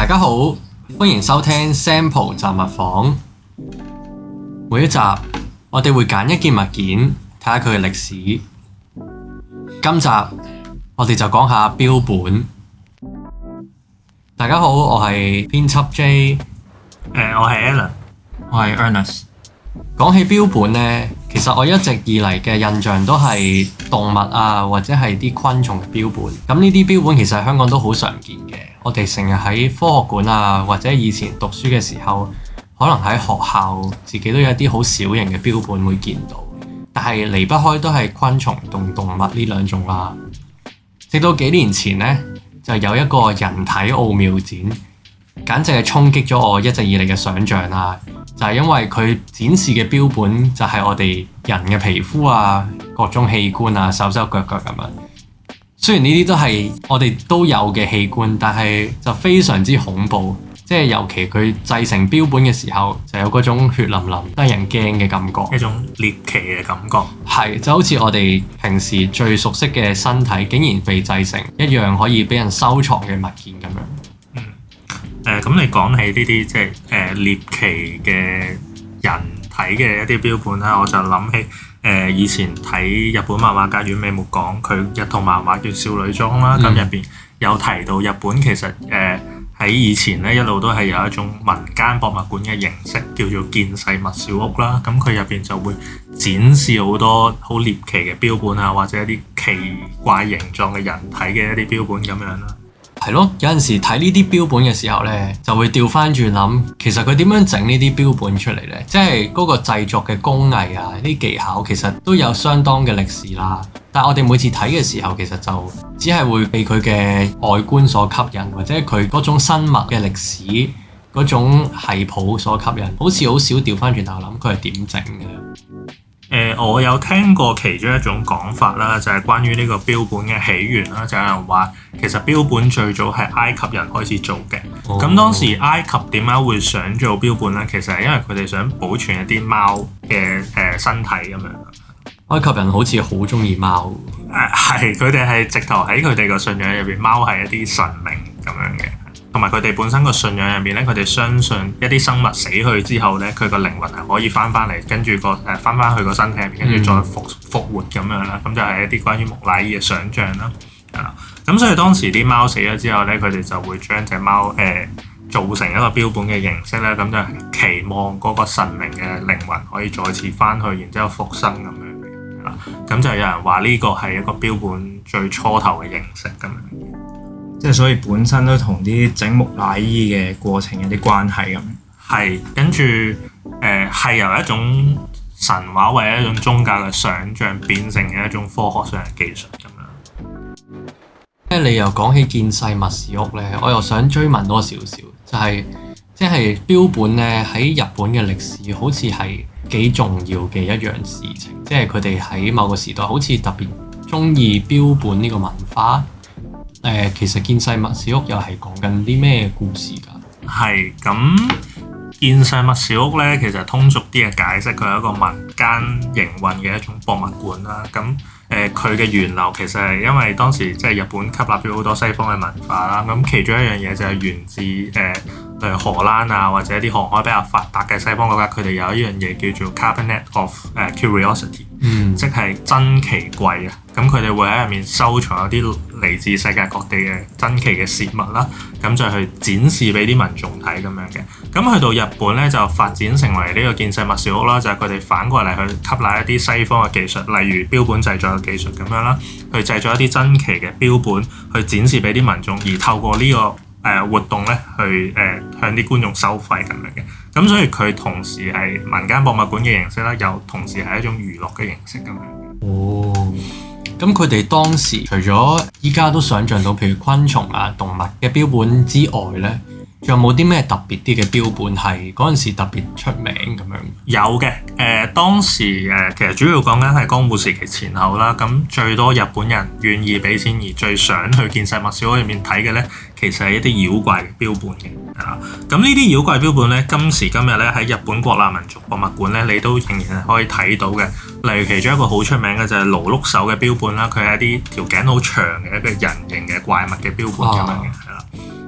大家好，歡迎收聽 Sample 雜物房。每一集我哋會揀一件物件，睇下佢嘅歷史。今集我哋就講下標本。大家好，我係編輯 J。 我係 Alan， 我係 Ernest。 講起標本呢，其實我一直以嚟嘅印象都係動物啊，或者係啲昆蟲嘅標本。咁呢啲標本其實喺香港都好常見嘅。我哋成日喺科學館啊，或者以前讀書嘅時候，可能喺學校自己都有一啲好小型嘅標本會見到。但係離不開都係昆蟲同動物呢兩種啦。直到幾年前呢，就有一個人體奧妙展，簡直係衝擊咗我一直以嚟嘅想像啦。就係因為佢展示嘅標本就係我哋人嘅皮膚啊、各種器官啊、手手腳腳咁樣。雖然呢啲都係我哋都有嘅器官，但係就非常之恐怖。即係尤其佢製成標本嘅時候，就有嗰種血淋淋、得人驚嘅感覺， 一種獵奇嘅感覺。 係就好似我哋平時最熟悉嘅身體，竟然被製成一樣可以俾人收藏嘅物件咁樣。 咁你講起呢啲即係獵奇嘅人體嘅一啲標本啦，我就諗起以前睇日本漫畫家丸尾末講佢一套漫畫叫《少女裝》啦，咁入邊有提到日本其實喺以前咧一路都係有一種民間博物館嘅形式，叫做見世物小屋啦。咁佢入邊就會展示好多好獵奇嘅標本啊，或者一啲奇怪形狀嘅人體嘅一啲標本咁樣啦。 係咯，有陣時睇呢啲標本嘅時候呢，就會調翻轉諗，其實佢點樣整呢啲標本出嚟呢？即係嗰個製作嘅工藝啊，啲技巧其實都有相當嘅歷史啦。但係我哋每次睇嘅時候，其實就只係會被佢嘅外觀所吸引，或者佢嗰種生物嘅歷史嗰種系譜所吸引，好似好少調翻轉頭諗佢係點整嘅。 我有聽過其中一種講法啦，就係關於呢個標本嘅起源啦。就有人話其實標本最早係埃及人開始做嘅。咁當時埃及點解會想做標本呢？其實係因為佢哋想保存一啲貓嘅身體咁樣。 埃及人好似好中意貓。 係，佢哋係直頭喺佢哋個信仰入邊，貓係一啲神明咁樣嘅。同埋佢哋本身個信仰入面咧，佢哋相信一啲生物死去之後咧，佢個靈魂係可以翻嚟，跟住翻翻去個身體入邊，跟住再復活咁樣啦。咁就係一啲關於木乃伊嘅想像啦。咁所以當時啲貓死咗之後咧，佢哋就會將隻貓做成一個標本嘅形式咧，咁就期望嗰個神明嘅靈魂可以再次翻去，然之後復生咁樣嘅。咁就有人話呢個係一個標本最初頭嘅形式咁樣。 即係所以本身都同啲整木乃伊嘅過程有啲關係咁。 係，跟住係由一種神話或者一種宗教嘅想像變成嘅一種科學上嘅技術咁樣。 你又講起見世物小屋咧，我又想追問多少少，就係即係標本咧喺日本嘅歷史好似係幾重要嘅一樣事情，即係佢哋喺某個時代好似特別中意標本呢個文化。其實見世物小屋又係講緊啲咩故事㗎？ 係咁，見世物小屋咧，其實通俗啲嘅解釋，佢係一個民間營運嘅一種博物館啦。咁佢嘅源流其實係因為當時即係日本吸納咗好多西方嘅文化啦。咁其中一樣嘢就係源自例如荷蘭啊，或者一啲航海比較發達嘅西方國家，佢哋有一樣嘢叫做 Cabinet of Curiosity，即係珍奇櫃啊。咁佢哋會喺入面收藏一啲嚟自世界各地嘅珍奇嘅事物啦，咁就去展示俾啲民眾睇咁樣嘅。咁去到日本咧，就發展成為呢個見世物小屋啦，就係佢哋反過嚟去吸納一啲西方嘅技術，例如標本製作嘅技術咁樣啦，去製作一啲珍奇嘅標本，去展示俾啲民眾，而透過呢個活動咧，去向啲觀眾收費咁樣嘅。咁所以佢同時係民間博物館嘅形式啦，又同時係一種娛樂嘅形式咁樣嘅。 哦。咁佢哋當時除咗依家都想像到，譬如昆蟲啊、動物嘅標本之外咧，仲有冇啲咩特別啲嘅標本係嗰陣時特別出名咁樣？ 有嘅，當時其實主要講緊係江戶時期前後啦。咁最多日本人願意俾錢而最想去見世物小屋入面睇嘅咧，其實係一啲妖怪嘅標本嘅。咁呢啲妖怪標本咧，今時今日咧喺日本國立民族博物館咧，你都仍然係可以睇到嘅。例如其中一個好出名嘅就係勞碌手嘅標本啦，佢係一啲條頸好長嘅一個人形嘅怪物嘅標本咁樣嘅，係啦。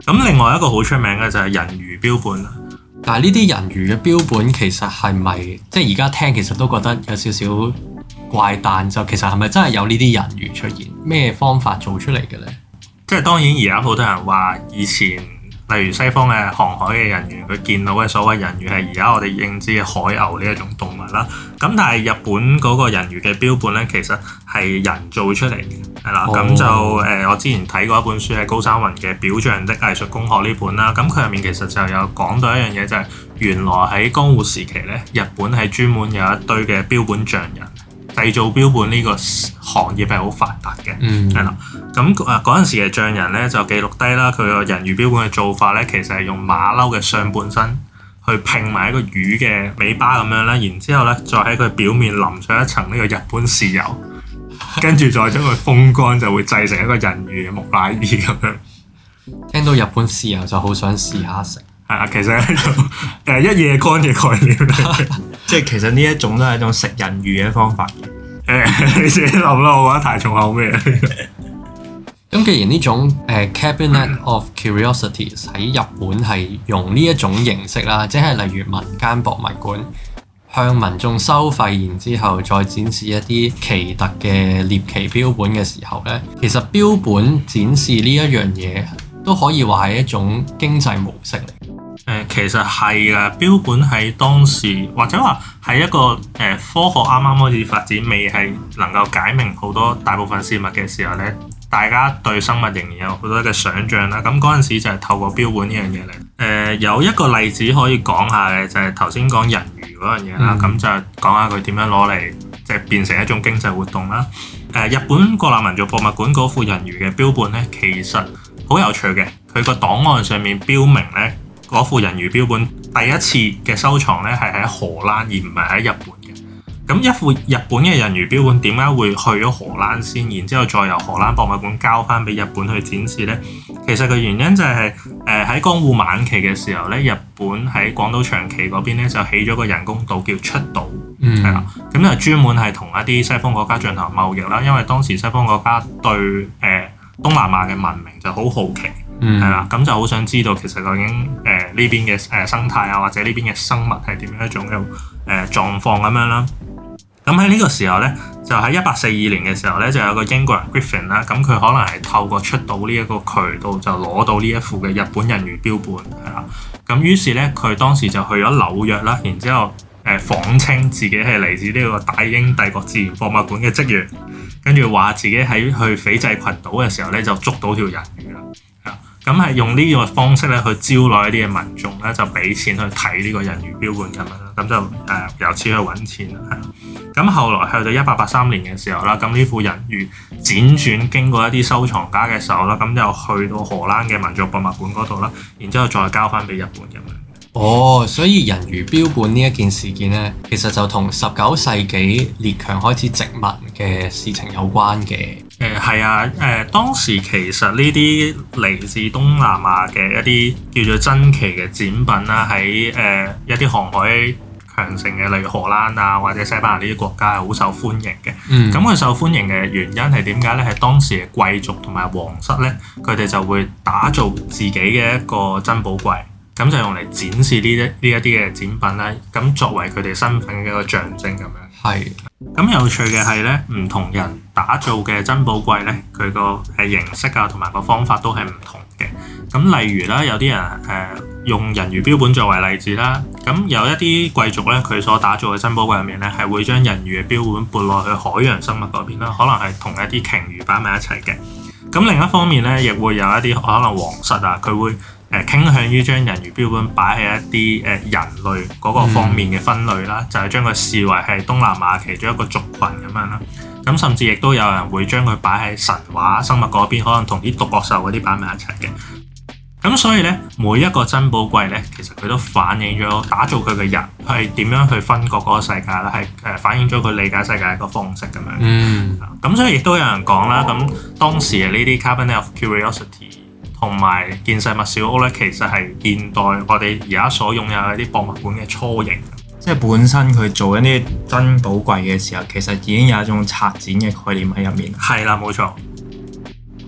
咁另外一個好出名嘅就係人魚標本啦。 但係呢啲人魚嘅標本其實係咪即係而家聽其實都覺得有少少怪誕？就其實係咪真係有呢啲人魚出現？咩方法做出嚟嘅咧？ 即係當然而家好多人話以前例如西方嘅航海嘅人員，佢見到嘅所謂人魚係而家我哋認知嘅海牛呢一種動物啦。咁但係日本嗰個人魚嘅標本咧，其實係人造出嚟嘅，係啦。咁就我之前睇過一本書係高山雲嘅《表象的藝術工學》呢本啦。咁佢入面其實就有講到一樣嘢，就係原來喺江戶時期咧，日本係專門有一堆嘅標本匠人。製造標本呢個行業係好發達嘅，係啦。咁嗰陣時嘅匠人咧就記錄低啦，佢個人魚標本嘅做法咧，其實係用馬騮嘅上半身去拼埋一個魚嘅尾巴咁樣啦，然之後咧再喺佢表面淋上一層呢個日本豉油，跟住再將佢風乾，就會製成一個人魚嘅木乃伊咁樣。 聽到日本豉油就好想試下食。 係啊，其實係一夜乾嘅概念嚟， 即係其實呢一種都係一種食人魚嘅方法。 你自己諗啦，我覺得太重口味啦。 咁既然呢種Cabinet of Curiosities 喺日本係用呢一種形式啦，即係例如民間博物館向民眾收費，然之後再展示一啲奇特嘅獵奇標本嘅時候咧，其實標本展示呢一樣嘢都可以話係一種經濟模式嚟。 其實係㗎，標本喺當時或者話係一個科學啱啱開始發展，未係能夠解明好多大部分事物嘅時候咧，大家對生物仍然有好多嘅想像啦。咁嗰陣時就係透過標本呢樣嘢嚟。有一個例子可以講下嘅就係頭先講人魚嗰樣嘢啦。咁就講下佢點樣攞嚟即係變成一種經濟活動啦。日本國立民族博物館嗰副人魚嘅標本咧，其實好有趣嘅。佢個檔案上面標明咧，嗰副人魚標本第一次嘅收藏咧係喺荷蘭，而唔係喺日本嘅。咁一副日本嘅人魚標本點解會去咗荷蘭先，然之後再由荷蘭博物館交翻俾日本去展示呢？其實個原因就係喺江戶晚期嘅時候咧，日本喺廣島長崎嗰邊咧就起咗個人工島叫出島，係啦。咁就專門係同一啲西方國家進行貿易啦，因為當時西方國家對東南亞嘅文明就好好奇。係啦，咁就好想知道其實究竟呢邊嘅生態啊，或者呢邊嘅生物係點樣一種嘅狀況咁樣啦。咁喺呢個時候咧，就喺1842年嘅時候咧，就有個英國人 Griffin 啦，咁佢可能係透過出島呢一個渠道就攞到呢一副嘅日本人魚標本，係啦。咁於是咧，佢當時就去咗紐約啦，然之後謊稱自己係嚟自呢個大英帝國自然博物館嘅職員，跟住話自己喺去斐濟群島嘅時候咧就捉到條人魚啦。咁係用呢個方式咧去招來一啲嘅民眾咧，就俾錢去睇呢個人魚標本咁樣啦，咁就由此去揾錢啦，係啦。咁後來去到1883年嘅時候啦，咁呢副人魚輾轉經過一啲收藏家嘅手啦，咁就去到荷蘭嘅民族博物館嗰度啦，然之後再交翻俾日本咁樣。 哦，所以人魚標本呢一件事件咧，其實就同19世紀列強開始殖民嘅事情有關嘅。 係啊，當時其實呢啲嚟自東南亞嘅一啲叫做珍奇嘅展品啦，喺一啲航海強盛嘅，例如荷蘭啊或者西班牙呢啲國家係好受歡迎嘅。咁佢受歡迎嘅原因係點解咧？係當時嘅貴族同埋皇室咧，佢哋就會打造自己嘅一個珍寶櫃，咁就用嚟展示呢一啲嘅展品啦，咁作為佢哋身份嘅一個象徵咁樣。 係。 咁有趣嘅係咧，唔同人打造嘅珍寶櫃咧，佢個形式啊同埋個方法都係唔同嘅。咁例如啦，有啲人用人魚標本作為例子啦，咁有一啲貴族咧，佢所打造嘅珍寶櫃入面咧，係會將人魚嘅標本撥落去海洋生物嗰邊啦，可能係同一啲鯨魚擺埋一齊嘅。咁另一方面咧，亦會有一啲可能皇室啊，佢會傾向於將人魚標本擺喺一啲人類嗰個方面嘅分類啦，就係將佢視為係東南亞其中一個族群咁樣啦。咁甚至亦都有人會將佢擺喺神話生物嗰邊，可能同啲獨角獸嗰啲擺埋一齊嘅。咁所以咧，每一個珍寶櫃咧，其實佢都反映咗打造佢嘅人係點樣去分割嗰個世界啦，係反映咗佢理解世界嘅一個方式咁樣。咁所以亦都有人講啦，咁當時嘅呢啲 Cabinet of Curiosity 同埋見世物小屋咧，其實係現代我哋而家所擁有嘅一啲博物館嘅雛形。 即係本身佢做一啲珍寶櫃嘅時候，其實已經有一種策展嘅概念喺入面。 係啦，冇錯。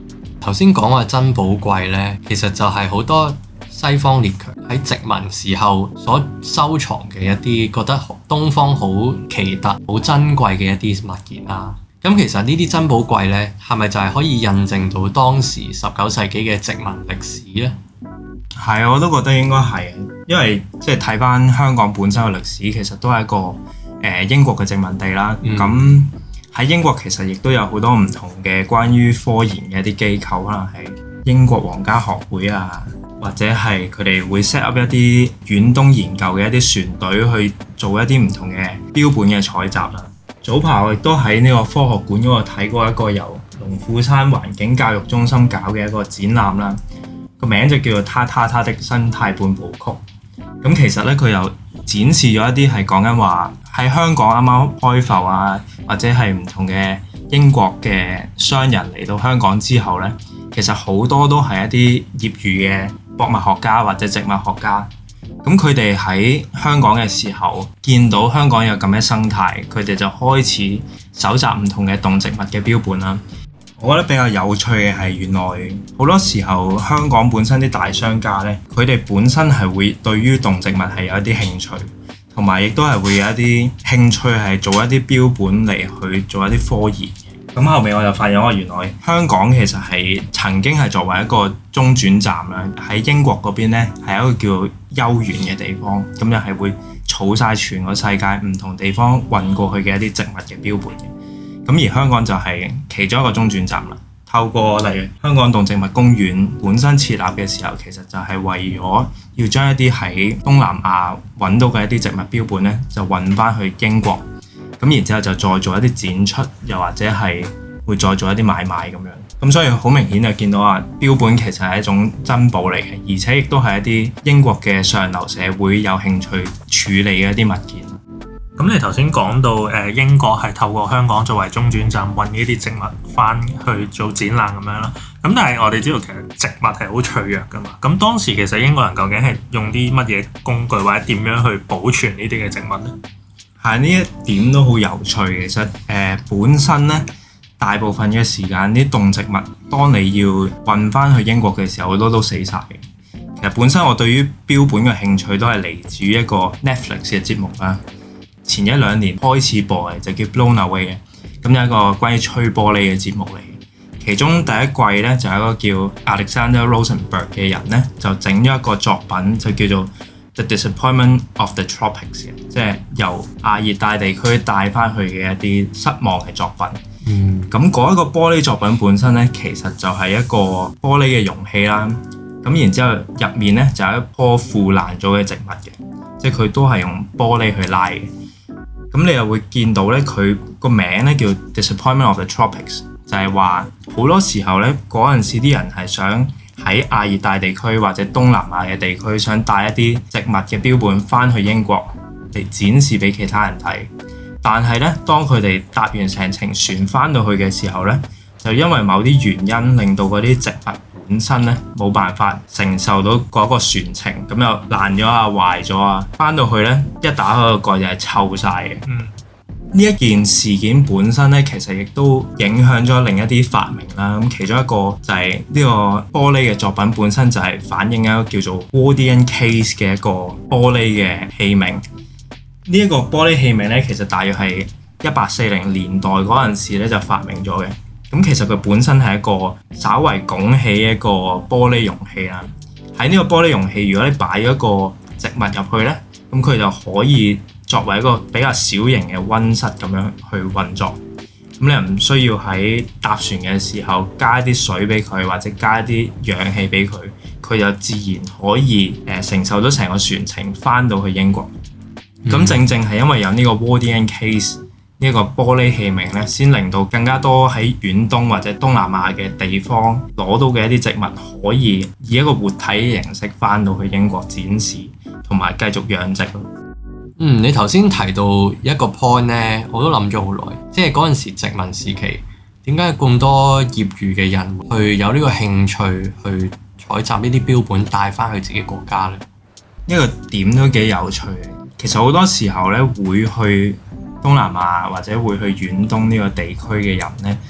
頭先講話珍寶貴呢，其實就係好多西方列強喺殖民時候所收藏嘅一啲覺得東方好奇特、好珍貴嘅一啲物件啦。咁其實呢啲珍寶貴呢，係咪就係可以印證到當時19世紀嘅殖民歷史呢？ 係，我都覺得應該係，因為即係睇翻香港本身嘅歷史，其實都係一個英國嘅殖民地啦。咁喺英國其實亦都有好多唔同嘅關於科研嘅一啲機構，可能係英國皇家學會啊，或者係佢哋會 set up 一啲遠東研究嘅一啲船隊去做一啲唔同嘅標本嘅採集啦。早排我亦都喺呢個科學館嗰度睇過一個由龍虎山環境教育中心搞嘅一個展覽啦，個名就叫做《他的生態半部曲》。咁其實咧佢又展示咗一啲係講緊話喺香港啱啱開埠啊，或者係唔同嘅英國嘅商人嚟到香港之後咧，其實好多都係一啲業餘嘅博物學家或者植物學家。咁佢哋喺香港嘅時候，見到香港有咁嘅生態，佢哋就開始搜集唔同嘅動植物嘅標本啦。我覺得比較有趣嘅係，原來好多時候香港本身啲大商家呢，佢哋本身係會對於動植物係有一啲興趣，同埋亦都係會有一啲興趣係做一啲標本嚟去做一啲科研。咁後尾我就發現原來香港其實係曾經係作為一個中轉站啦，喺英國嗰邊呢係一個叫休園嘅地方，咁就係會儲晒全個世界唔同地方運過去嘅一啲植物嘅標本嘅。咁而香港就係其中一個中轉站啦。透過例如香港動植物公園本身設立嘅時候，其實就係為咗要將一啲喺東南亞揾到嘅一啲植物標本呢，就運翻去英國。咁然之後就再做一啲展出，又或者係會再做一啲買賣咁樣。咁所以好明顯就見到標本其實係一種珍寶嚟嘅，而且亦都係一啲英國嘅上流社會有興趣處理嘅一啲物件。 咁你頭先講到英國係透過香港作為中轉站運呢啲植物翻去做展覽咁樣啦。咁但係我哋知道其實植物係好脆弱噶嘛。咁當時其實英國人究竟係用啲乜嘢工具或者點樣去保存呢啲嘅植物呢？ 係，呢一點都好有趣。其實本身咧，大部分嘅時間啲動植物，當你要運翻去英國嘅時候，好多都死晒嘅。其實本身我對於標本嘅興趣都係嚟自於一個 Netflix 嘅節目啦。前1-2年開始播嘅就叫 Blown Away 嘅，咁有一個關於吹玻璃嘅節目嚟。其中第一季咧就有一個叫 Alexander Rosenberg 嘅人咧，就整咗一個作品就叫做 The Disappointment of the Tropics 嘅，即係由亞熱帶地區帶翻去嘅一啲失望嘅作品。咁嗰一個玻璃作品本身咧，其實就係一個玻璃嘅容器啦。咁然之後入面咧就有一棵腐爛咗嘅植物嘅，即係佢都係用玻璃去拉嘅。咁你又會見到咧，佢個名咧叫 Disappointment of the Tropics， 就係話好多時候咧，嗰陣時啲人係想喺亞熱帶地區或者東南亞嘅地區，想帶一啲植物嘅標本翻去英國嚟展示俾其他人睇。但係咧，當佢哋搭完成程船翻到去嘅時候咧，就因為某啲原因令到嗰啲植物本身咧冇辦法承受到嗰個船程，咁又爛咗啊、壞咗啊，翻到去咧一打開個蓋就係臭晒嘅。呢一件事件本身咧，其實亦都影響咗另一啲發明啦。咁其中一個就係呢個玻璃嘅作品本身就係反映一個叫做 Wardian Case 嘅一個玻璃嘅器皿。呢一個玻璃器皿咧，其實大約係1840年代嗰陣時咧就發明咗嘅。咁其實佢本身係一個稍為拱起一個玻璃容器啦。喺呢個玻璃容器，如果你擺咗一個植物入去咧，咁佢就可以作為一個比較小型嘅溫室咁樣去運作。咁你又唔需要喺搭船嘅時候加一啲水俾佢，或者加一啲氧氣俾佢，佢就自然可以承受到成個船程翻到去英國。咁正正係因為有呢個 Wardian Case 呢個玻璃器皿咧，先令到更加多喺遠東或者東南亞嘅地方攞到嘅一啲植物，可以以一個活體嘅形式翻到去英國展示，同埋繼續養殖。 你頭先提到一個 point 咧，我都諗咗好耐，即係嗰陣時殖民時期，點解咁多業餘嘅人去有呢個興趣去採集呢啲標本帶翻去自己國家呢？ 呢個點都幾有趣嘅。其實好多時候咧，會去東南亞或者會去遠東呢個地區嘅人咧，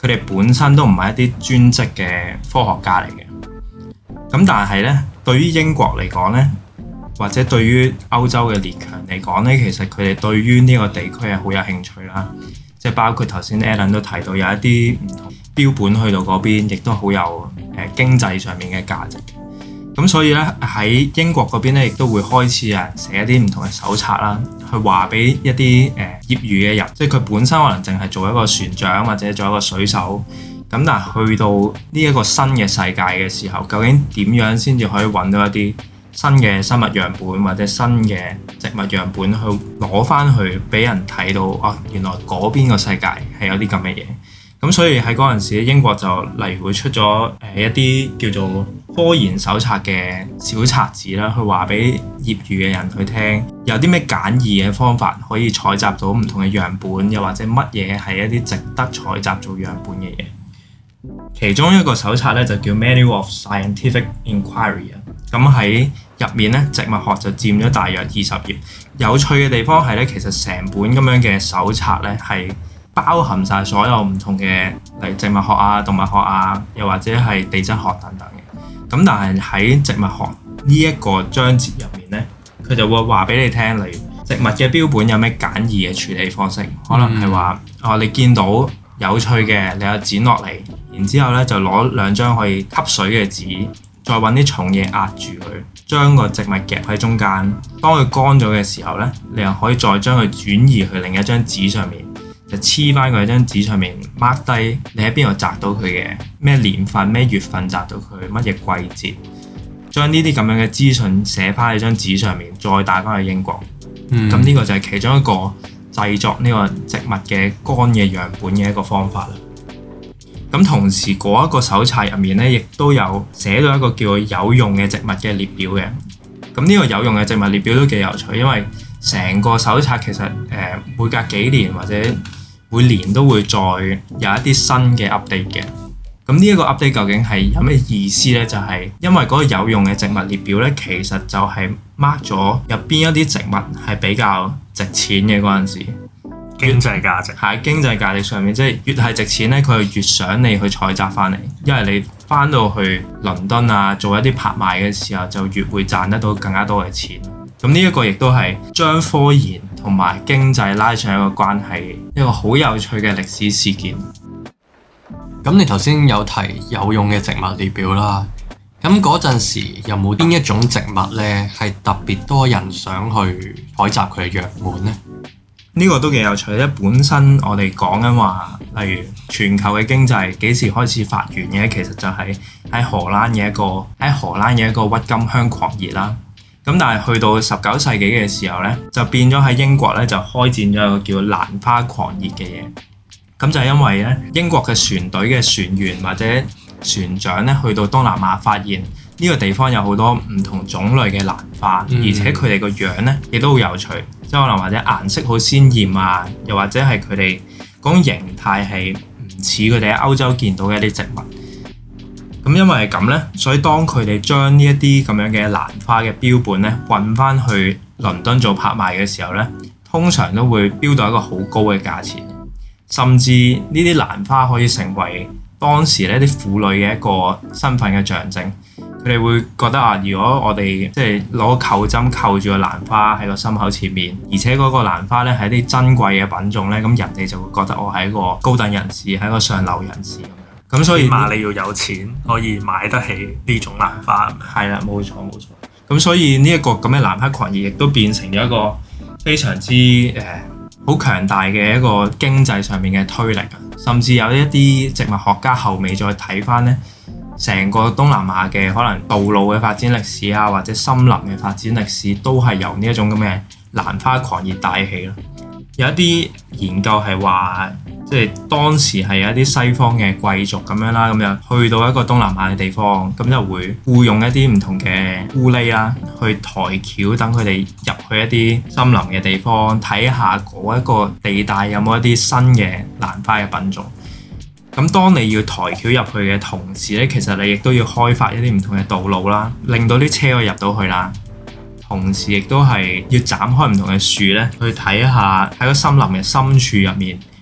佢哋本身都唔係一啲專職嘅科學家嚟嘅。咁但係咧，對於英國嚟講咧，或者對於歐洲嘅列強嚟講咧，其實佢哋對於呢個地區係好有興趣啦。即係包括頭先 Alan 都提到有一啲唔同標本去到嗰邊，亦都好有經濟上面嘅價值。咁所以咧，喺英國嗰邊咧，亦都會開始寫一啲唔同嘅手冊啦，去話俾一啲業餘嘅人，即係佢本身可能淨係做一個船長或者做一個水手。咁但係去到呢一個新嘅世界嘅時候，究竟點樣先至可以揾到一啲新嘅生物樣本或者新嘅植物樣本去攞翻去俾人睇到？哦，原來嗰邊個世界係有啲咁嘅嘢。咁所以喺嗰陣時，英國就例如會出咗一啲叫做科研手冊嘅小冊子啦，去話俾業餘嘅人去聽，有啲咩簡易嘅方法可以採集到唔同嘅樣本，又或者乜嘢係一啲值得採集做樣本嘅嘢。其中一個手冊咧就叫 Manual of Scientific Inquiry 啊，咁喺入面咧植物學就佔咗大約20頁。有趣嘅地方係咧，其實成本咁樣嘅手冊咧係包含晒所有唔同嘅，例如植物學啊、動物學啊，又或者係地質學等等嘅。咁但係喺植物學呢一個章節入面咧，佢就會話俾你聽，例如植物嘅標本有咩簡易嘅處理方式，可能係話你見到有趣嘅，你又剪落嚟，然之後咧就攞2張可以吸水嘅紙，再揾啲重嘢壓住佢，將個植物夾喺中間。當佢乾咗嘅時候咧，你又可以再將佢轉移去另一張紙上面，就黐翻佢喺張紙上面 mark 低你喺邊度摘到佢嘅，咩年份、咩月份摘到佢，乜嘢季節，將呢啲咁樣嘅資訊寫翻喺張紙上面，再帶翻去英國。咁呢個就係其中一個製作呢個植物嘅乾嘅樣本嘅一個方法啦。咁同時嗰一個手冊入面咧，亦都有寫到一個叫做有用嘅植物嘅列表嘅。咁呢個有用嘅植物列表都幾有趣，因為成個手冊其實每隔幾年或者每年都會再有一啲新嘅 update 嘅。咁呢一個 update 究竟係有咩意思咧？就係因為嗰個有用嘅植物列表咧，其實就係 mark 咗入邊一啲植物係比較值錢嘅嗰陣時。 經濟價值喺經濟價值上面，即係越係值錢咧，佢越想你去採集翻嚟，因為你翻到去倫敦啊做一啲拍賣嘅時候，就越會賺得到更加多嘅錢。咁呢一個亦都係將科研同埋經濟拉上一個關係，一個好有趣嘅歷史事件。 咁你頭先有提有用嘅植物列表啦，咁嗰陣時有冇邊一種植物咧係特別多人想去採集佢嘅樣本咧？ 呢個都幾有趣咧。本身我哋講緊話，例如全球嘅經濟幾時開始發源嘅，其實就係喺荷蘭嘅一個鬱金香狂熱啦。咁但係去到19世紀嘅時候咧，就變咗喺英國咧就開展咗一個叫蘭花狂熱嘅嘢。咁就係因為咧，英國嘅船隊嘅船員或者船長咧，去到東南亞發現呢個地方有好多唔同種類嘅蘭花，而且佢哋個樣咧亦都好有趣，即係可能或者顏色好鮮豔啊，又或者係佢哋嗰種形態係唔似佢哋喺歐洲見到嘅一啲植物。咁因為係咁咧，所以當佢哋將呢一啲咁樣嘅蘭花嘅標本咧運翻去倫敦做拍賣嘅時候咧，通常都會標到一個好高嘅價錢。甚至呢啲蘭花可以成為當時呢啲婦女嘅一個身份嘅象徵。佢哋會覺得啊，如果我哋即係攞扣針扣住個蘭花喺個心口前面，而且嗰個蘭花咧係一啲珍貴嘅品種咧，咁人哋就會覺得我係一個高等人士，係一個上流人士咁樣。咁所以起碼你要有錢可以買得起呢種蘭花。 係啦，冇錯冇錯。咁所以呢一個咁嘅蘭花狂熱亦都變成咗一個非常之好強大嘅一個經濟上面嘅推力啊！甚至有一啲植物學家後尾再睇翻咧，成個東南亞嘅可能道路嘅發展歷史啊，或者森林嘅發展歷史，都係由呢一種咁嘅蘭花狂熱帶起咯。有一啲研究係話，即係當時係有一啲西方嘅貴族咁樣啦，咁樣去到一個東南亞嘅地方，咁就會僱用一啲唔同嘅咕喱啦，去抬轎等佢哋入去一啲森林嘅地方，睇下嗰一個地帶有冇一啲新嘅蘭花嘅品種。咁當你要抬轎入去嘅同時咧，其實你亦都要開發一啲唔同嘅道路啦，令到啲車可以入到去啦。同時亦都係要斬開唔同嘅樹咧，去睇下喺個森林嘅深處入面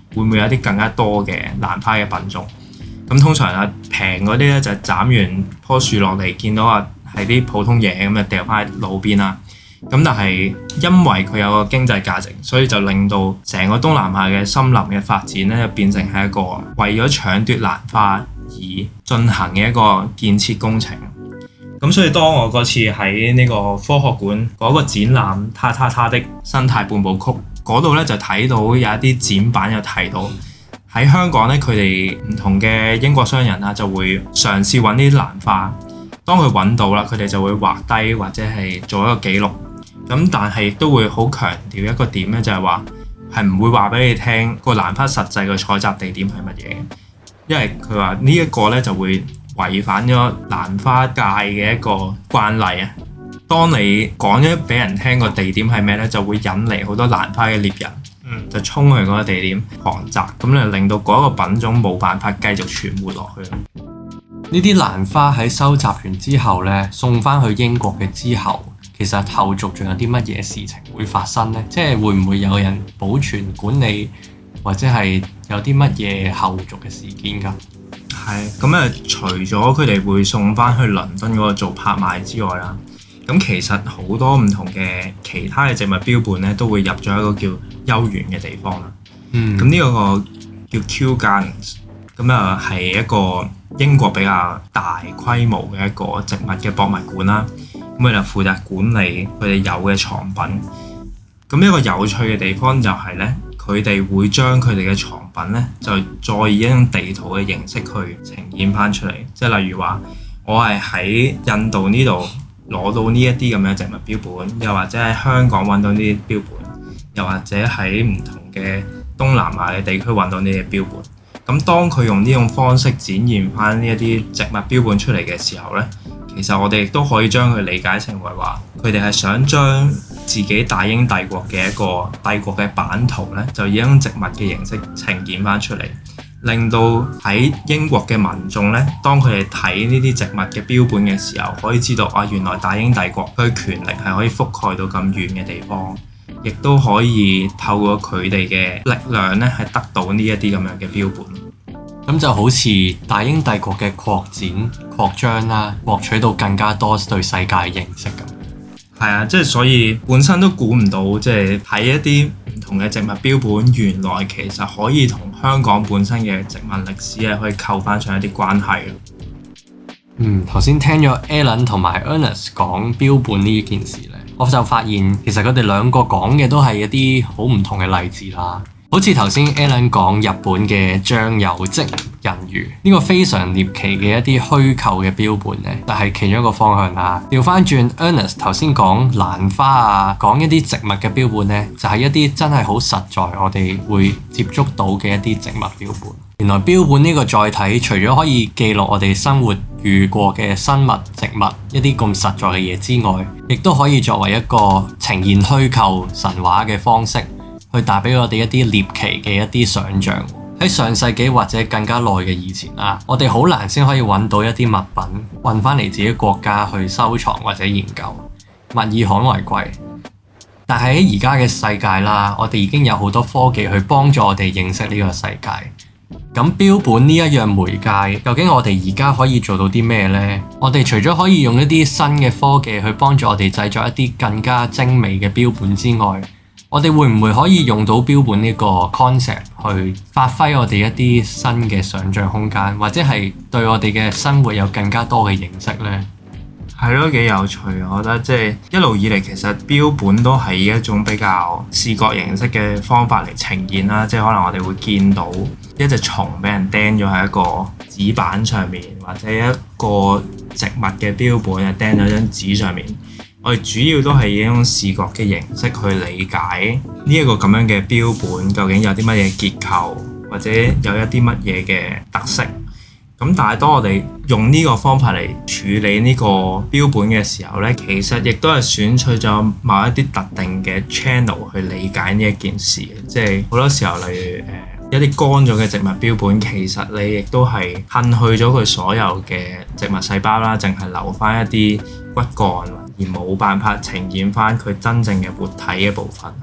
會唔會有啲更加多嘅蘭花嘅品種？咁通常平嗰啲咧就斬完棵樹落嚟，見到係啲普通嘢咁就掉翻喺路邊啦。咁但係因為佢有個經濟價值，所以就令到成個東南亞嘅森林嘅發展咧，就變成係一個為咗搶奪蘭花而進行嘅一個建設工程。咁所以當我嗰次喺呢個科學館嗰個展覽他的生態半部曲嗰度咧，就睇到有一啲展板有提到喺香港咧，佢哋唔同嘅英國商人就會嘗試揾啲蘭花。當佢揾到啦，佢哋就會畫低或者係做一個記錄。咁但係亦都會好強調一個點咧，就係話係唔會話俾你聽個蘭花實際嘅採集地點係乜嘢，因為佢話呢一個咧就會違反咗蘭花界嘅一個慣例啊。當你講咗俾人聽個地點係咩咧，就會引嚟好多蘭花嘅獵人，就衝去嗰個地點狂摘，咁就令到嗰個品種冇辦法繼續存活落去。 呢啲蘭花喺收集完之後咧，送翻去英國嘅之後，其實後續仲有啲乜嘢事情會發生呢？即係會唔會有人保存管理，或者係有啲乜嘢後續嘅事件㗎？ 係咁除咗佢哋會送翻去倫敦嗰度做拍賣之外啦，咁其實好多唔同嘅其他嘅植物標本咧，都會入咗一個叫幽園嘅地方啦。咁呢個叫 Kew Gardens，咁係一個英國比較大規模嘅一個植物嘅博物館啦。咁佢就負責管理佢哋有嘅藏品。咁一個有趣嘅地方就係咧，佢哋會將佢哋嘅藏品咧，就再以一種地圖嘅形式去呈現翻出嚟。即係例如話，我係喺印度呢度攞到呢一啲咁嘅植物標本，又或者喺香港揾到呢啲標本，又或者喺唔同嘅東南亞嘅地區揾到呢啲標本。咁當佢用呢種方式展現翻呢一啲植物標本出嚟嘅時候咧，其實我哋亦都可以將佢理解成為話，佢哋係想將自己大英帝國嘅一個帝國嘅版圖咧，就以一種植物嘅形式呈現翻出嚟，令到喺英國嘅民眾咧，當佢哋睇呢啲植物嘅標本嘅時候，可以知道原來大英帝國佢嘅權力係可以覆蓋到咁遠嘅地方，亦都可以透過佢哋嘅力量咧，係得到呢一啲咁樣嘅標本。 咁就好似大英帝國嘅擴展、擴張啦，獲取到更加多對世界嘅認識咁。 係啊，即係所以本身都估唔到，即係睇一啲唔同嘅植物標本，原來其實可以同香港本身嘅植物歷史係可以扣翻上一啲關係嘅。 頭先聽咗 Alan 同埋 Ernest 講標本呢件事咧，我就發現其實佢哋兩個講嘅都係一啲好唔同嘅例子啦。好似頭先 Alan 講日本嘅醬油漬人魚呢個非常獵奇嘅一啲虛構嘅標本咧，就係其中一個方向啦。調翻轉 Ernest 頭先講蘭花講一啲植物嘅標本咧，就係一啲真係好實在我哋會接觸到嘅一啲植物標本。原來標本呢個載體除咗可以記錄我哋生活遇過嘅生物、植物一啲咁實在嘅嘢之外，亦都可以作為一個呈現虛構神話嘅方式，去帶俾我哋一啲獵奇嘅一啲想像。喺上世紀或者更加耐嘅以前啦，我哋好難先可以揾到一啲物品運翻嚟自己國家去收藏或者研究，物以罕為貴。但係喺而家嘅世界啦，我哋已經有好多科技去幫助我哋認識呢個世界。咁標本呢一樣媒介，究竟我哋而家可以做到啲咩呢？我哋除咗可以用一啲新嘅科技去幫助我哋製作一啲更加精美嘅標本之外，我哋會唔會可以用到標本呢個 concept 去發揮我哋一啲新嘅想像空間，或者係對我哋嘅生活有更加多嘅認識呢？ 係咯，幾有趣。我覺得即係一路以嚟，其實標本都係以一種比較視覺形式嘅方法嚟呈現啦。即係可能我哋會見到一隻蟲俾人釘咗喺一個紙板上面，或者一個植物嘅標本啊釘咗張紙上面。我哋主要都係以一種視覺嘅形式去理解呢一個咁樣嘅標本究竟有啲乜嘢結構，或者有一啲乜嘢嘅特色。咁但係當我哋用呢個方法嚟處理呢個標本嘅時候呢，其實亦都係選取咗某一啲特定嘅 channel 去理解呢一件事。即係好多時候，例如一啲乾咗嘅植物標本，其實你亦都係褪去咗佢所有嘅植物細胞啦，淨係留翻一啲骨幹，而冇辦法呈現翻佢真正嘅活體嘅部分。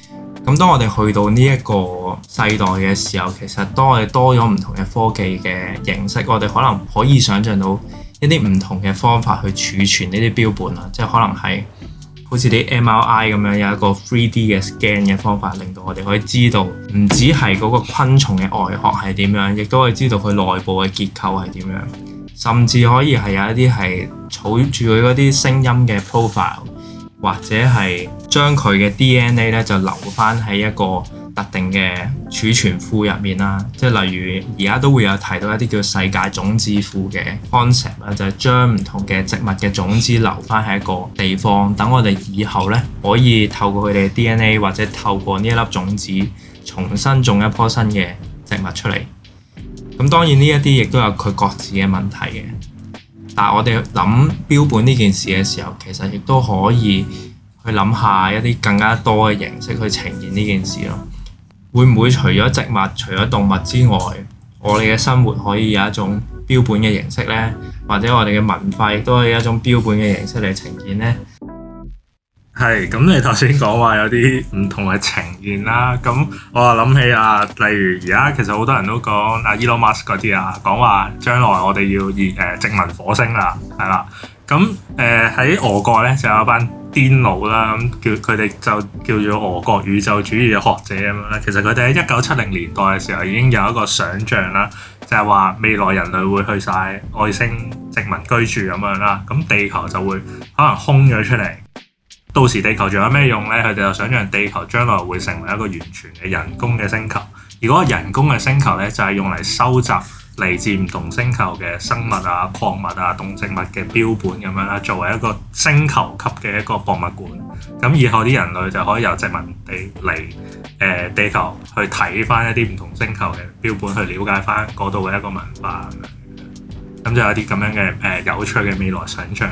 咁當我哋去到呢一個世代嘅時候，其實當我哋多咗唔同嘅科技嘅形式，我哋可能可以想像到一啲唔同嘅方法去儲存呢啲標本啦，即係可能係好似啲 MRI 咁樣有一個 3D 嘅 scan 嘅方法，令到我哋可以知道唔止係嗰個昆蟲嘅外殼係點樣，亦都可以知道佢內部嘅結構係點樣，甚至可以係有一啲係儲住佢嗰啲聲音嘅 profile。或者係將佢嘅 DNA 咧就留翻喺一個特定嘅儲存庫入面啦，即係例如而家都會有提到一啲叫世界種子庫嘅 concept 啦，就係將唔同嘅植物嘅種子留翻喺一個地方，等我哋以後咧可以透過佢哋嘅 DNA 或者透過呢一粒種子重新種一棵新嘅植物出嚟。咁當然呢一啲亦都有佢各自嘅問題嘅。但係我哋諗標本呢件事嘅時候，其實亦都可以去諗下一啲更加多嘅形式去呈現呢件事咯。會唔會除咗植物、除咗動物之外，我哋嘅生活可以有一種標本嘅形式呢？或者我哋嘅文化亦都可以有一種標本嘅形式嚟呈現呢？ 係，咁你頭先講話有啲唔同嘅呈現啦，咁我又諗起啊，例如而家其實好多人都講啊 Elon Musk 嗰啲啊，講話將來我哋要殖民火星啦，係啦，咁喺俄國咧就有一班癲佬啦，咁佢哋就叫做俄國宇宙主義嘅學者咁樣啦。其實佢哋喺1970年代嘅時候已經有一個想像啦，就係話未來人類會去晒外星殖民居住咁樣啦，咁地球就會可能空咗出嚟。到時地球仲有咩用呢？佢哋就想像地球將來會成為一個完全嘅人工嘅星球，而嗰個人工嘅星球呢，就係用嚟收集嚟自唔同星球嘅生物啊、礦物啊、動植物嘅標本咁樣啦，作為一個星球級嘅一個博物館。咁以後啲人類就可以由殖民地嚟地球去睇翻一啲唔同星球嘅標本，去了解翻嗰度嘅一個文化咁就有啲咁樣嘅有趣嘅未來想像。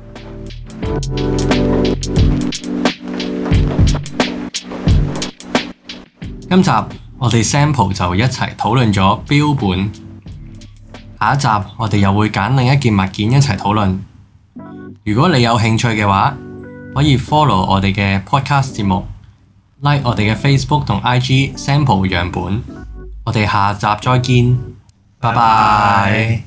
今集我哋 sample 就一齊討論咗標本，下一集我哋又會揀另一件物件一齊討論。如果你有興趣嘅話，可以 follow 我哋嘅 podcast 節目， like 我哋嘅 Facebook 同 IG sample 樣本。我哋下集再見，拜拜。